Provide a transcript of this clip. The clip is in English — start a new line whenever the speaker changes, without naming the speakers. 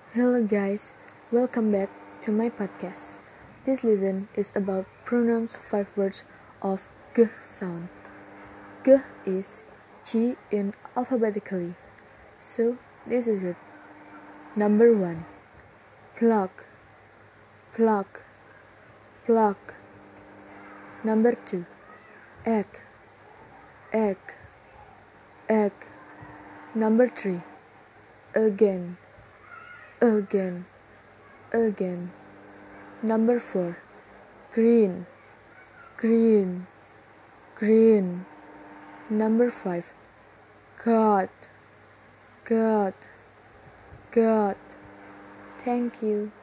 Hello guys, welcome back to my podcast. This lesson is about pronouns 5 words of g sound. G is G in alphabetically. So this is it. Number 1. Pluck, pluck, pluck. Number 2. Egg, egg, egg. Number 3. Again, again, again. Number 4. Green, green, green. Number 5. God, God, God. Thank you.